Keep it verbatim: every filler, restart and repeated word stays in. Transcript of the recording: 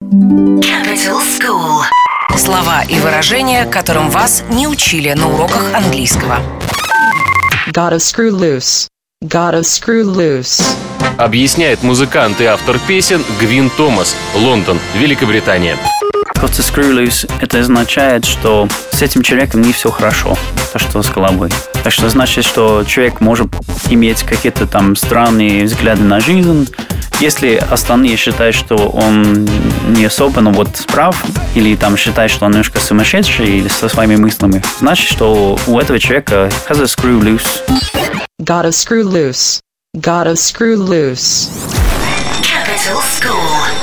Capital School. Слова и выражения, которым вас не учили на уроках английского. Gotta screw loose. Gotta screw loose. Объясняет музыкант и автор песен Гвин Томас, Лондон, Великобритания. Gotta screw loose — это означает, что с этим человеком не все хорошо, то, что с головой. Так что значит, что человек может иметь какие-то там странные взгляды на жизнь. Если остальные считают, что он не особо, ну вот, прав, или там считают, что он немножко сумасшедший или со своими мыслями, значит, что у этого человека has a screw loose. Gotta screw loose. Gotta screw loose. Capital School.